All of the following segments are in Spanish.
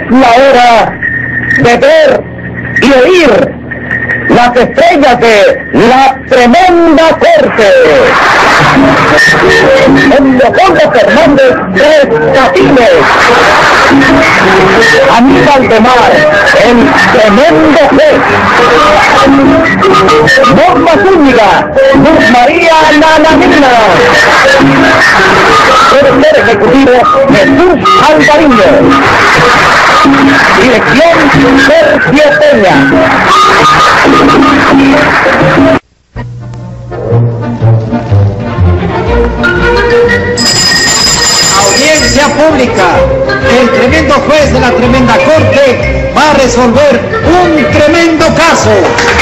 la hora de ver y oír las estrellas de la tremenda corte. Con Leopoldo Fernández Tres Patines, Aníbal de Mar, el tremendo juez, Norma Zúñiga, Luz María Nananina, productor ejecutivo Jesús Alvariño, dirección Sergio Peña. Audiencia pública. El tremendo juez de la tremenda corte va a resolver un tremendo caso.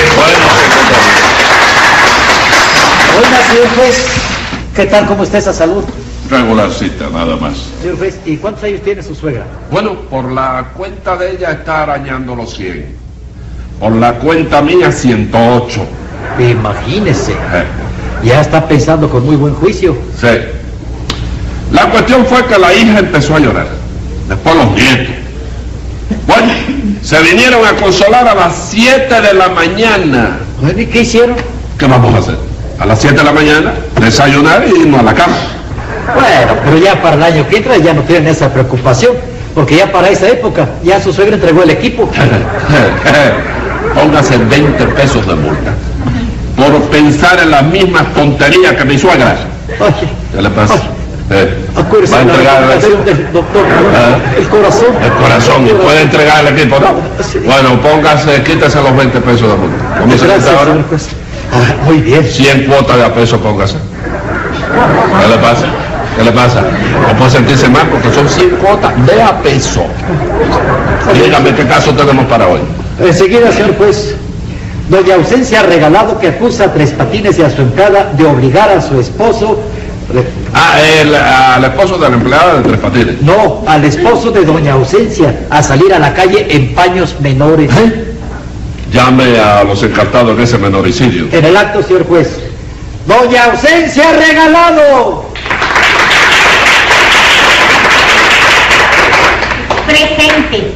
Oiga, señor juez, ¿qué tal? ¿Cómo está esa salud? Regularcita, nada más. Señor juez, ¿y cuántos años tiene su suegra? Bueno, por la cuenta de ella está arañando los 100. Por la cuenta mía, 108. Imagínese. Ya está pensando con muy buen juicio. Sí. La cuestión fue que la hija empezó a llorar. Después los nietos. Bueno, se vinieron a consolar a las 7 de la mañana. Bueno, ¿y qué hicieron? ¿Qué vamos a hacer? A las 7 de la mañana, desayunar y irnos a la cama. Bueno, pero ya para el año que entra ya no tienen esa preocupación, porque ya para esa época ya su suegra entregó el equipo. Póngase 20 pesos de multa por pensar en las mismas tonterías que mi suegra. Oye, ¿Qué le pasa? acuérdese ¿Va a de la entregar recomendación del doctor, el corazón. El corazón, y puede entregar el equipo, ¿no? Sí. Bueno, póngase, quítese los 20 pesos de multa. ¿Cómo se Gracias, quita ahora? señor juez. Muy bien. 100 cuotas de a peso, póngase. ¿Qué le pasa? ¿Qué le pasa? No puede sentirse mal porque son 100 cuotas de a peso. Dígame qué caso tenemos para hoy. Enseguida, señor juez. Doña Ausencia Regalado, que acusa a Tres Patines y a su empleada de obligar a su esposo... al esposo de la empleada de Tres Patines. No, al esposo de Doña Ausencia a salir a la calle en paños menores. Llame a los encartados en ese menoricidio. En el acto, señor juez. Doña Ausencia Regalado. Presente.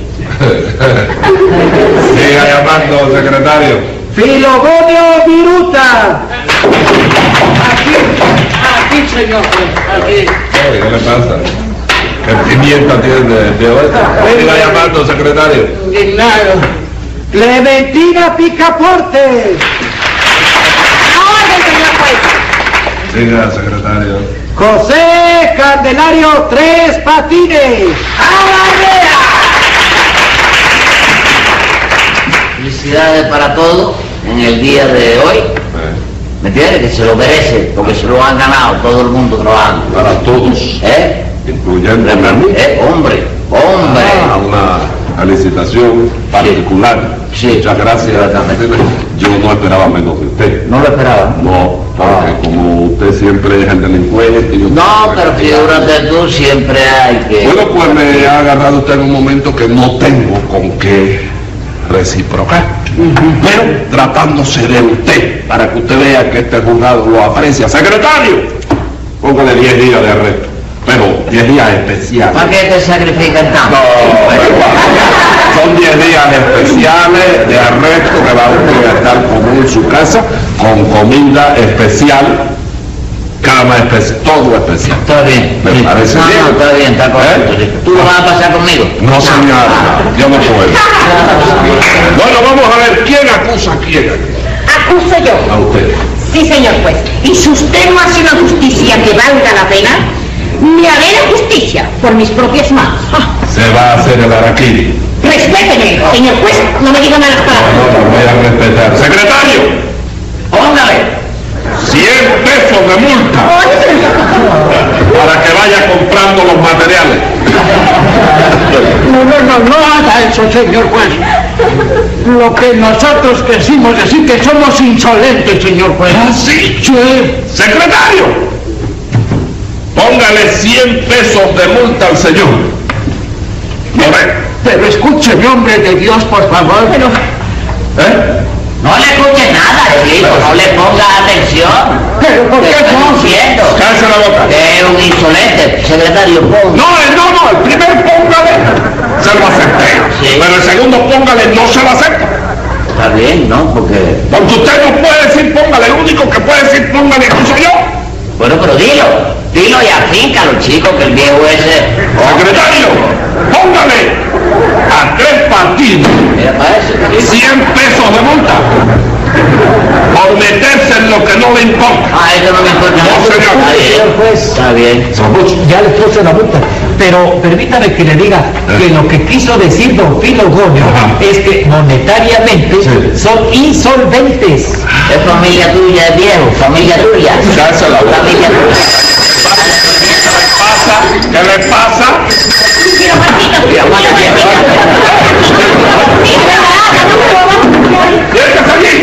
Siga llamando, secretario. Filogonio Viruta. Aquí, señor juez, aquí. ¿Qué le pasa? ¿Qué pimienta tiene de hoy? Siga llamando, secretario. Indignado. Clementina Picaporte. Orden, señor juez. Siga, secretario. José Candelario Tres Patines. Felicidades para todos en el día de hoy. ¿Me entiendes? Que se lo merece, porque se lo han ganado todo el mundo trabajando. Para todos, incluyendo a mí. Hombre, hombre. Una licitación particular. Sí. Muchas gracias. Yo no esperaba menos de usted. ¿No lo esperaba? No, porque como usted siempre es el delincuente. No, pero figúrate tú, siempre hay que... Bueno, pues me ha agarrado usted en un momento que no tengo con qué reciprocar. Pero tratándose de usted, para que usted vea que este juzgado lo aprecia. Secretario, póngale 10 días de arresto, pero 10 días especiales. ¿Para qué te sacrifican tanto? No, son 10 días especiales de arresto que va usted a estar como en su casa, con comida especial, cama especial, todo especial. Está bien. ¿Me parece no, bien? No, está bien, está correcto. Sí. ¿Tú lo vas a pasar conmigo? No, señor, yo no puedo. Bueno, vamos a ver, ¿quién acusa a quién? Acuso yo. A usted. Sí, señor juez. Y si usted no hace una justicia que valga la pena, me haré la justicia por mis propias manos. Se va a hacer el araquiri. Respéteme, señor juez. No me diga malas palabras. No, voy a respetar. Secretario, Póngale 100 pesos de multa para que vaya comprando los materiales. No haga eso, señor juez. Lo que nosotros quisimos decir que somos insolentes, señor juez. ¿Ah, sí? Sí. Secretario, póngale 100 pesos de multa al señor. Pero escúcheme, hombre de Dios, por favor. Pero... No le escuche nada, le digo, no le ponga atención. ¿Pero por qué no? Diciendo Cállese la boca. que es un insolente, secretario, ponga. No, el primer póngale. Se lo acepté. póngale, no se lo acepto. Está bien, ¿no? Porque usted no puede decir póngale, el único que puede decir póngale soy yo. Bueno, pero dilo y afíncalo, chico, que el viejo ese... Secretario, póngale a Tres Patines Mira para eso. 100 pesos de multa por meterse en lo que no le importa. Ah, eso no me importa. No, señor. Está bien. Señor juez, Está bien. ya le puse la multa, pero permítame que le diga que lo que quiso decir don Filogonio es que monetariamente son insolventes. Es familia tuya, es viejo, familia tuya. Ya se la voy. Familia tuya. ¿Qué le pasa? Mira, ¡Siéntese allí!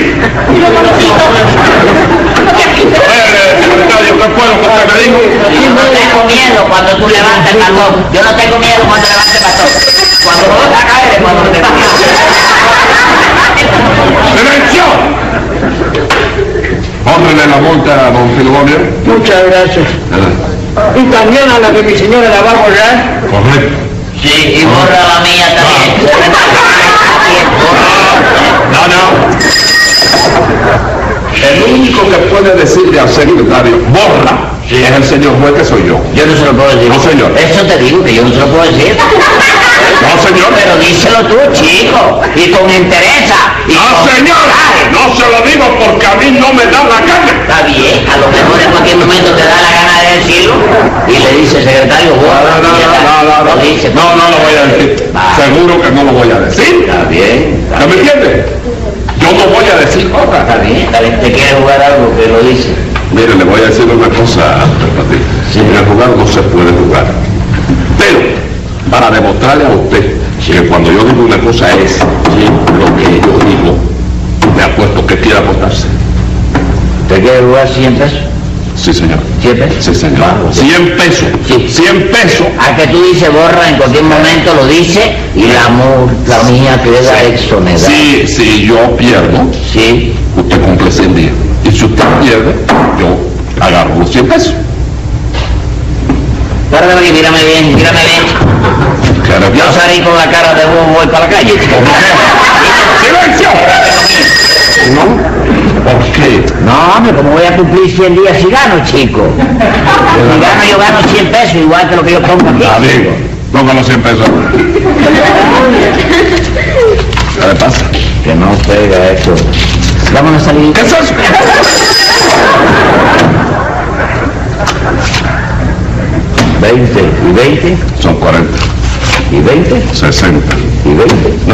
Secretario, ¿qué fue lo que usted me dijo? yo no tengo miedo cuando tú levantes el bastón. Yo no tengo miedo cuando levantes el bastón. Cuando lo vas a caer es cuando te miedo. ¡Silencio! Póngale la multa a don Filogonio. Muchas gracias. Y también a la que mi señora la va a borrar. Correcto. Sí, y borra la mía también. No. El único que puede decirle al secretario, borra, es el señor juez, que soy yo. Yo no se lo puedo decir. No, señor. Eso te digo, que yo no se lo puedo decir. No, señor. Pero díselo tú, chico, y con interés. No, señor. No se lo digo porque a mí no me da la carne. Está bien, a lo mejor en cualquier momento te da la gana de decirlo y le dice, secretario, borra. No, Lo dice. no lo voy a decir. Va. Seguro que no lo voy a decir. Está bien. ¿Ya me entiende? Yo no voy a decir Está otra. bien, te quiere jugar algo que lo dice. Mire, le voy a decir una cosa, Sí. en el jugar no se puede jugar. Pero, para demostrarle a usted que cuando yo digo una cosa es lo que yo digo, me apuesto que quiere apostarse. ¿Te quiere jugar 100 pesos? Sí, señor. 100 pesos. Sí, señor. Vamos. 100 pesos. Sí. 100 pesos. A que tú dices borra, en cualquier momento lo dice y la mía queda exonerada. Si yo pierdo, Sí. usted cumple 100 días. Y si usted pierde, yo agarro los 100 pesos. Párate aquí, mírame bien. Claro, Yo salí con la cara de bobo, voy para la calle. ¡Silencio! ¿No? ¿Por qué? No, hombre, ¿cómo voy a cumplir 100 días si gano, chico? Si gano, yo gano 100 pesos, igual que lo que yo pongo aquí. Amigo, ponga los 100 pesos. ¿Qué le pasa? Que no pega esto. Vámonos a salir. ¿Qué es eso? 20 y 20 Son 40, y 20 60. y 20. No,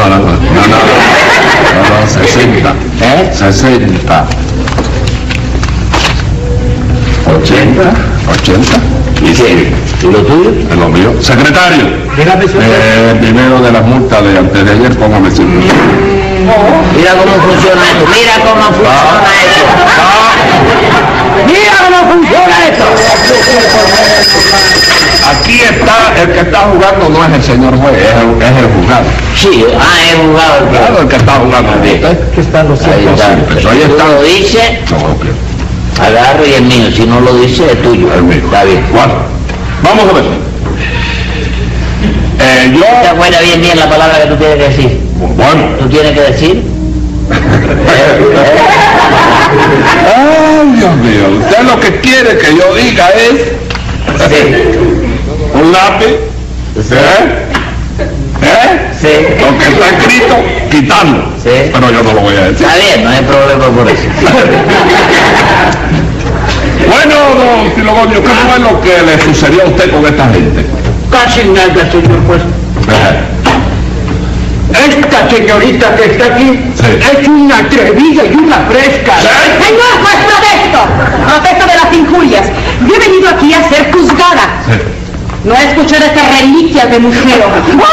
60. ¿Eh? 60. 80. Y ¿Qué? ¿Y lo tuyo? es lo mío. Secretario, Dígame, señor. primero de las multas de antes de ayer, póngame 100. Mira cómo funciona esto, mira cómo funciona esto. Mira cómo funciona esto. Aquí está, el que está jugando no es el señor juez, es el juzgado. Sí, he jugado. Claro, el que está jugando. Que están los 100 Ahí pesos. está. Pues ahí Si tú está. lo dices, No, ok. agarro y es mío. Si no lo dices, es tuyo. El mío. Está bien. Bueno, vamos a ver. ¿Te acuerdas bien la palabra que tú tienes que decir? Bueno. ¿Tú tienes que decir? Ay, Dios mío. Usted lo que quiere que yo diga es Sí. un lápiz. Sí. Sí. Lo que está escrito, quitando. Sí. Pero yo no lo voy a decir. Está bien, no hay problema por eso. Bueno, don Filogonio, ¿qué fue lo que le sucedió a usted con esta gente? Casi nada, señor juez. Esta señorita que está aquí Sí. es una atrevida y una fresca. Señor juez, protesto de las injurias. Yo he venido aquí a ser juzgada. No a escuchar estas reliquias de museo.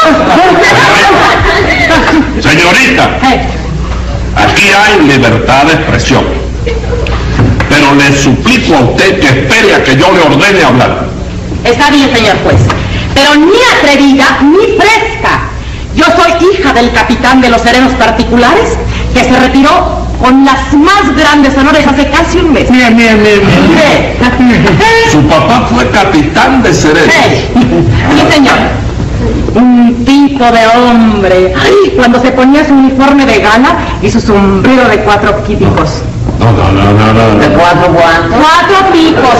Señorita, aquí hay libertad de expresión. Pero le suplico a usted que espere a que yo le ordene hablar. Está bien, señor juez, pero ni atrevida ni fresca. Yo soy hija del capitán de los serenos particulares que se retiró con las más grandes honores hace casi un mes. Mire. Su papá fue capitán de serenos. Sí, señor. Un tipo de hombre. Ay, cuando se ponía su uniforme de gala y su sombrero de 4 picos. No. ¿De 4 cuántos? 4 picos.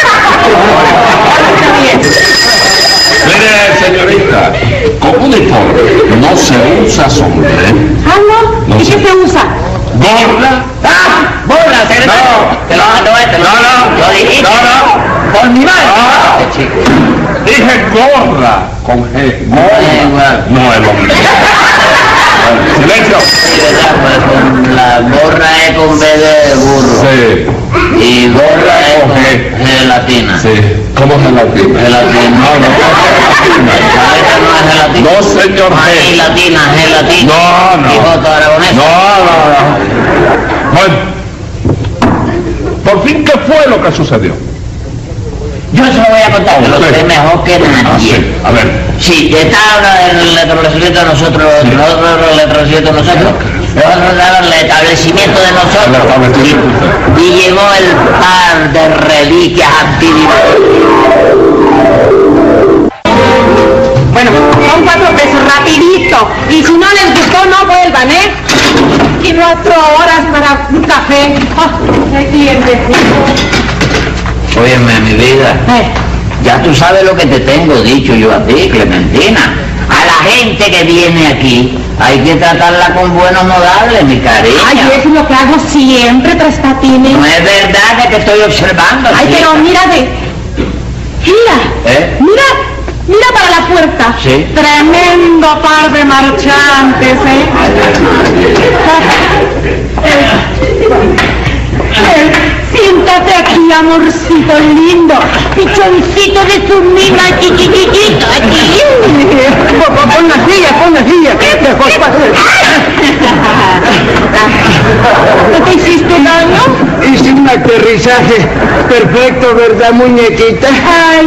Mire, señorita, con uniforme no se usa sombrero. Ah, ¿no? ¿Y qué se usa? ¿Gorra? ¡Ah! ¡Burla, secretario! No. Te lo no. Lo dijiste. No. Por mi madre. Chico. Dije gorra con G. Gorra. No el hombre. Silencio. Con la gorra es con B de burro. Sí. Y gorra es con G latina. Sí. ¿Cómo es gelatina? Gelatina. No. ¿Esta no es gelatina? No, señor G. Gelatina, gelatina. No. Hijoto aragonés. No. Bueno. Por fin, ¿qué fue lo que sucedió? Yo se lo voy a contar, que lo sé mejor que nadie. Sí. A ver. Sí, está en el establecimiento de nosotros, nosotros estaba en el establecimiento de nosotros, y llegó el par de reliquias antiguas. Bueno, son 4 pesos, rapidito. Y si no les gustó, no vuelvan, ¿eh? Y 4 horas para un café. ¡Qué clientecito! Óyeme, mi vida, ya tú sabes lo que te tengo dicho yo a ti, Clementina. A la gente que viene aquí hay que tratarla con buenos modales, mi cariño. Ay, eso es lo que hago siempre, Tres Patines. No es verdad que te estoy observando. Ay, chica. pero mira mira para la puerta. Sí. Tremendo par de marchantes, siéntate aquí, amorcito lindo, pichoncito de tu mina, chiquitito, aquí. Pon la silla. ¿No te hiciste daño? Hice un aterrizaje perfecto, ¿verdad, muñequita? Ay,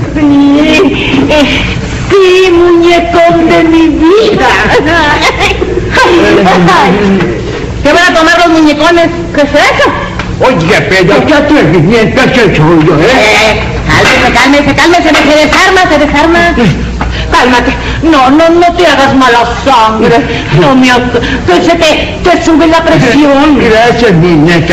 sí, muñecón de mi vida. ¿Qué van a tomar los muñecones? ¿Qué es eso? Oye, pero qué atrevimiento es el suyo, Cálmese, se desarma. Cálmate, no te hagas mala sangre, que se te sube la presión. Gracias, muñeca.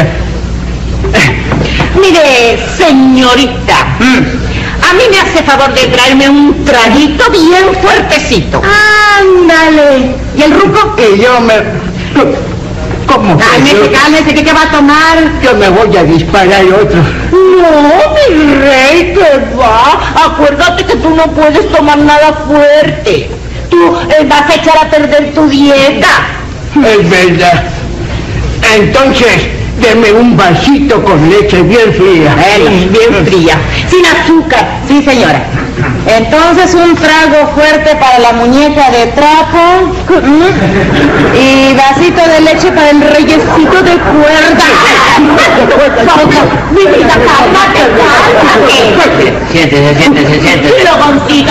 Mire, señorita, a mí me hace favor de traerme un traguito bien fuertecito. Ándale. ¿Y el ruco? Y yo ¿Cómo? Cálmese, ¿qué va a tomar? Yo me voy a disparar otro. No, mi rey, ¿qué va? Acuérdate que tú no puedes tomar nada fuerte. Tú vas a echar a perder tu dieta. Es verdad. Entonces, deme un vasito con leche bien fría. Bien fría. Sin azúcar. Sí, señora. Entonces un trago fuerte para la muñeca de trapo y vasito de leche para el reyesito de cuerda. Mi vida, cálmate. Siéntese. Filogoncito.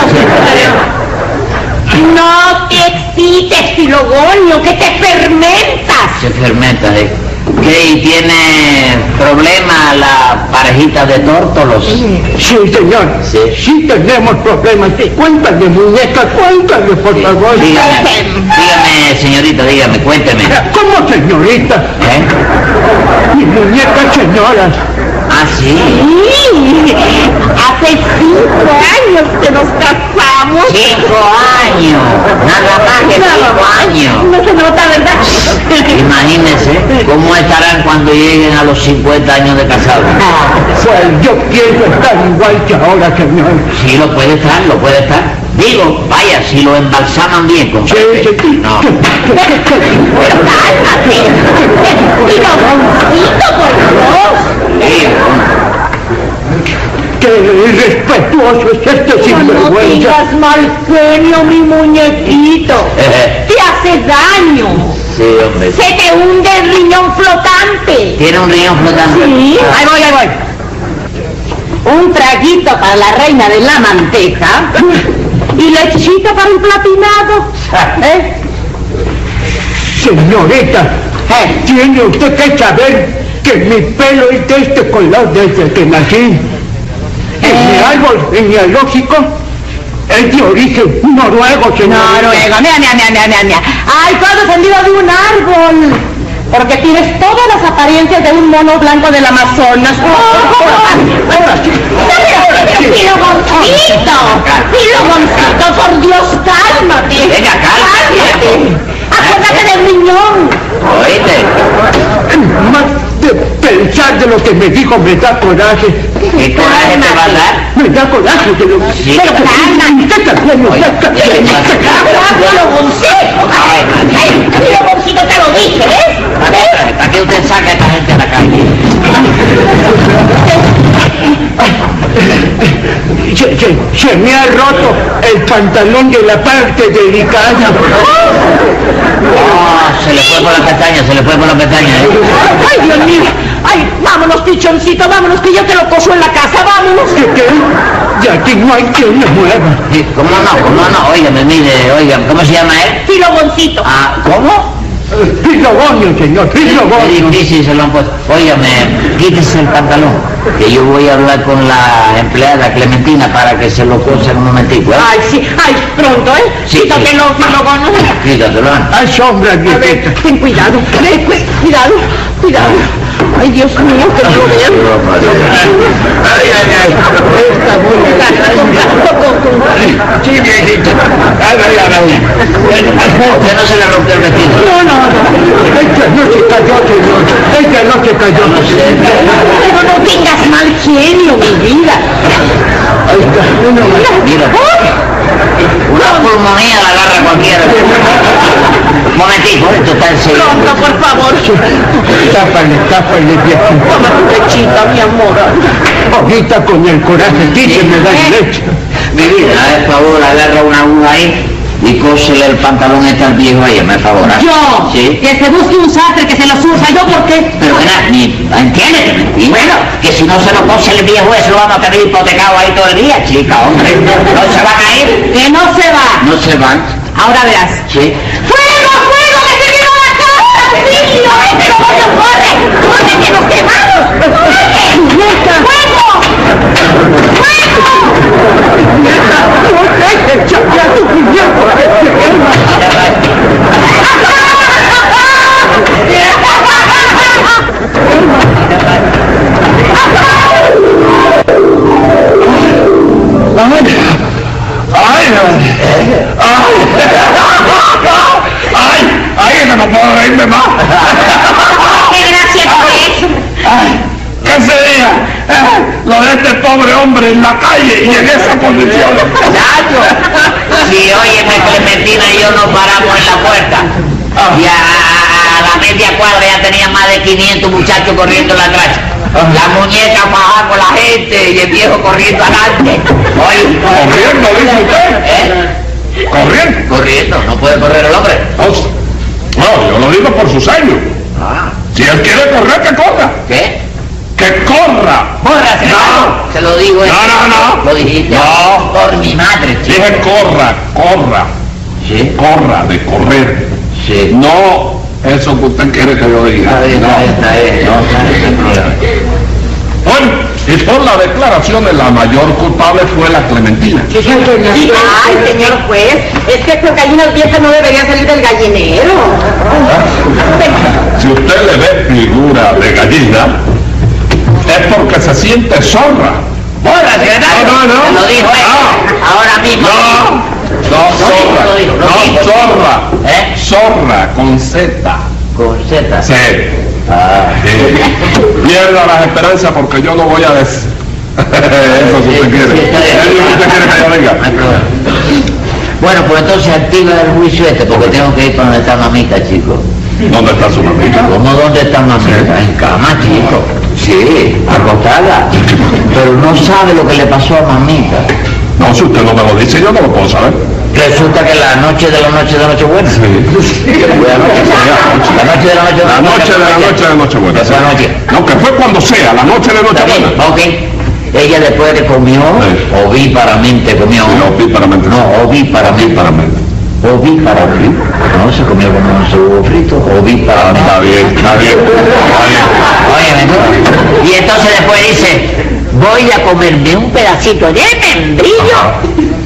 No te excites, Filogonio, que te fermentas. Se fermenta, ¿Qué? ¿Y tiene problema la parejita de tórtolos? Sí, señor. Sí tenemos problemas. Cuéntame, muñeca, cuéntame, por favor. Dígame, señorita, cuénteme. ¿Cómo, señorita? Mi muñeca, señora. ¿Ah, sí? Sí, hace 5 años que nos casamos. 5 años, nada más que 5 años. No se nota, ¿verdad? Imagínense cómo estarán cuando lleguen a los 50 años de casados. Pues yo pienso estar igual que ahora, señor. Sí, lo puede estar. Digo, vaya, si lo embalsaman bien con Sí. No. Pero cálmate. Filogoncito, por Dios. Sí, ¡Qué irrespetuoso es este No sinvergüenza! digas mal genio, mi muñequito. Te hace daño. Sí, hombre. Se te hunde el riñón flotante. ¿Tiene un riñón flotante? Sí. Ahí voy. Un traguito para la reina de la manteca y lechita para un platinado. Señorita, tiene usted que saber que mi pelo es de este color desde que nací. En mi árbol genealógico Es de origen noruego, señor. Noruego, mira. Ay, todo descendido de un árbol. Porque tienes todas las apariencias de un mono blanco del Amazonas. Pilogoncito, por Dios, cálmate. Venga, cálmate. Acuérdate del riñón. Oíste. Más de pensar de lo que me dijo me da coraje. ¿Qué coraje te va a dar? Me da coraje de lo que... Sí, pero cálmate. usted también, Oye, Pilogoncito, te lo dije, ¿ves? ¿Para qué usted saca a esta gente a la calle? Se me ha roto el pantalón de la parte delicada. Se le fue por la pestaña, Ay, Dios mío. Ay, vámonos, pichoncito, vámonos, que ya te lo coso en la casa, vámonos. ¿Qué? De aquí no hay quien me mueva. Sí, ¿cómo no? Óigame, mire, ¿cómo se llama él? Pilogoncito. ¿Cómo? Pilogonio, señor, Qué pilogonio. difícil se lo han puesto. Óigame, quítese el pantalón, que yo voy a hablar con la empleada Clementina para que se lo cosa en un momentico, ¿eh? Ay, sí, ay, pronto, ¿eh? Sí, Quítatelo, sí. Pilogono. Quítatelo. Hay sombra, A ver, viejita. ten cuidado, cuidado. Ay, Dios mío, que no lo vean. Sí, viejita. ¿Usted no se le rompió el vestido? No. Esta noche cayó, señor. Esta noche cayó. Pero no tengas mal genio, mi vida. Ahí está. Mira, una pulmonía la agarra cualquiera. Momentico, esto está enseguida. Pronto, por favor. Tápale, viejita. Toma tu lechita, mi amor. Ahorita con el coraje que me da leche. Mi vida, por favor, agarra una aguja ahí y cósele el pantalón este al viejo ahí, me favor. Yo, Sí. que se busque un sastre que se los usa, ¿yo por qué? Pero entiéndeme. Y bueno, que si no se lo cose el viejo eso lo vamos a tener hipotecado ahí todo el día, chica, hombre. ¿No se van a ir? Que no se va. No se van. Ahora verás. Sí. ¡Fuego, que se quemó la casa! ¡Auxilio! ¡Corre, que nos quemamos! ¡Corre! ¡Fuego! ¡Ay, que no puedo reírme más! ¡Qué gracia es! ¿Qué sería lo de este pobre hombre en la calle y en esa condición? Si óyeme, Clementina y yo nos paramos en la puerta y a la media cuadra ya tenía más de 500 muchachos corriendo en la calle. La muñeca bajaba con la gente y el viejo corriendo adelante. Oye, ¿Corriendo, dice usted? ¿eh? ¿Corriendo? No puede correr el hombre. No, yo lo digo por su sello. Ah, Si él quiere correr, que corra. ¿qué? ¡Que corra! ¡Corra, No. Se lo digo. No. Lo dijiste. No. Por mi madre, chico. Dije corra. Sí, Corra, de correr. sí. No eso que usted quiere que yo diga. Está bien. No, no hay problema. Bueno, y por la declaración de la mayor culpable fue la Clementina. Ay, señor juez, es que con gallinas viejas no debería salir del gallinero. Si usted le ve figura de gallina, es porque se siente zorra. ¡Corra, secretario! No. Se lo dijo él. Ahora mismo. No, zorra. ¿Eh? Zorra, con Z. Con Z. Sí. Ah. Pierda las esperanzas porque yo no voy a decir. Eso si usted quiere. Sí, está bien. Eso si usted quiere que yo No hay venga. problema. Bueno, pues entonces activa el juicio este porque tengo que ir para donde está mamita, chico. ¿Dónde está su mamita? ¿Cómo dónde está mamita? En cama, chico. Sí, acostada. Pero no sabe lo que le pasó a mamita. No, si usted no me lo dice, yo no lo puedo saber. Resulta que la noche de Nochebuena. ¿Qué fue anoche? La noche de La noche de Nochebuena. Esa noche. No, que fue cuando sea, la noche de ¿Está bien? Nochebuena. Ok. Ella después que comió, Sí. ovíparamente comió. No, ovíparamente. No, ovíparamente. Ovíparamente. No, se comió como un huevo frito. Ovíparamente. Está bien. Óyeme, ¿no? Y entonces después dice, voy a comerme un pedacito de membrillo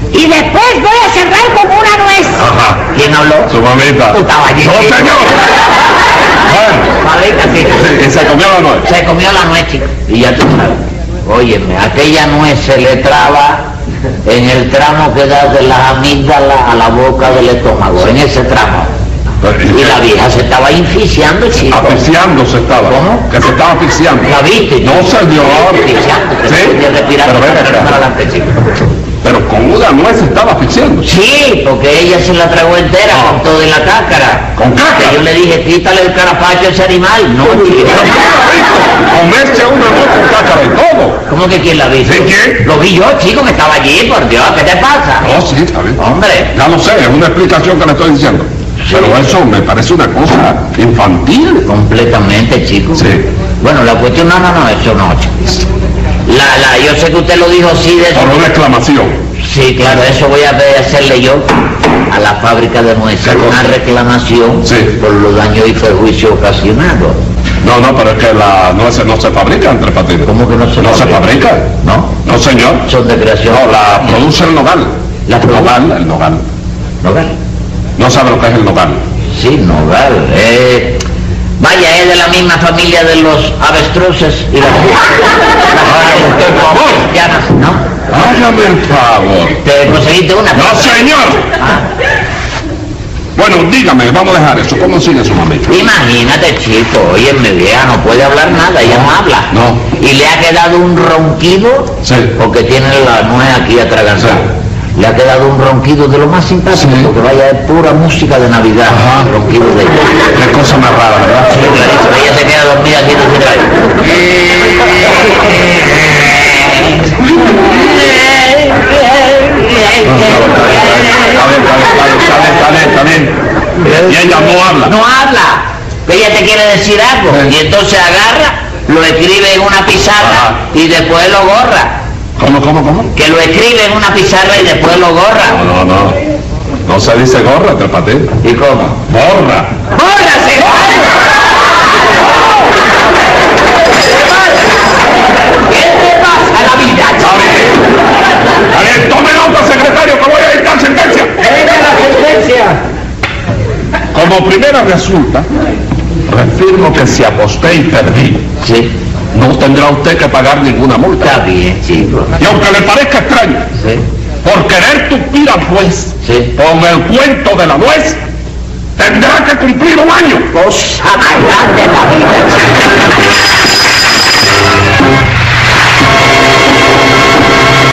Y después voy a cerrar con una nuez. Ajá. ¿Quién habló? Su mamita. Tu caballito. ¡No, señor! Mamita, sí. Sí, y se comió la nuez. Se comió la nuez, chico. Y ya tú sabes. Óyeme, aquella nuez se le traba en el tramo que da de las amígdalas a la boca del estómago, en ese tramo. Y la vieja se estaba asfixiando, chico. Asfixiándose estaba. ¿Cómo? Que se estaba asfixiando. ¿La viste? No, señor. Asfixiando. Sí. Pero ven acá. Para adelante, chico. Pero con una nuez se estaba asfixiando. Sí, porque ella se la tragó entera con todo en la cáscara. ¿Con cáscara? Que yo le dije, quítale el carapacho a ese animal. No, chico. Comerse una nuez con cáscara y todo. ¿Cómo que quién la vio? ¿Sí, quién? Lo vi yo, chico, que estaba allí, por Dios, ¿qué te pasa? No, sí, está bien. Hombre. Ya lo sé, es una explicación que le estoy diciendo. Pero eso me parece una cosa infantil. Completamente, chico. Sí. Bueno, la cuestión, no, eso no, chico. Yo sé que usted lo dijo así de eso. Por una exclamación. Sí, claro, eso voy a hacerle yo a la fábrica de nueces, ¿Qué cosa? una reclamación Sí. por los daños y perjuicios ocasionados. No, pero es que las nueces no se fabrican, Tres Patines. ¿Cómo que no se No se fabrica? fabrican. ¿No? No, señor. Son de creación. No, la produce el nogal. ¿La produce? El nogal. ¿Nogal? No sabe lo que es el nogal. Sí, nogal. Vaya, es de la misma familia de los avestruces y las... Por favor. ¿No? Hágame el favor. ¿Te conseguiste una? No, señor. Ah. Bueno, dígame, vamos a dejar eso. ¿Cómo sigue su mamita? Imagínate, chico, oye, mi vieja no puede hablar nada, ella no habla. No. Y le ha quedado un ronquido, Sí. porque tiene la nuez aquí atragantada. Sí. Le ha quedado un ronquido de lo más simpático, Sí. porque vaya, es pura música de Navidad, Ajá. el ronquido de ella. Qué cosa más rara, ¿verdad? Sí, clarísimo, ella se queda dormida aquí en el Está bien. Y ella no habla. No habla, ella te quiere decir algo, Sí. y entonces agarra, lo escribe en una pizarra Ajá. y después lo borra. ¿Cómo? Que lo escribe en una pizarra y después lo borra. No. No se dice gorra, Tres Patines. ¿Y cómo? Borra. ¡Bórrase! ¿Qué te pasa la vida? Está bien, tome nota, secretario, que voy a dictar sentencia. ¡Venga la sentencia! Como primera resulta, refirmo que si aposté y perdí, Sí, no tendrá usted que pagar ninguna multa. está bien, chico. Y aunque le parezca extraño, Sí, por querer tupir al juez sí. con el cuento de la nuez, tendrá que cumplir un año. Cosa más grande de la vida, chico.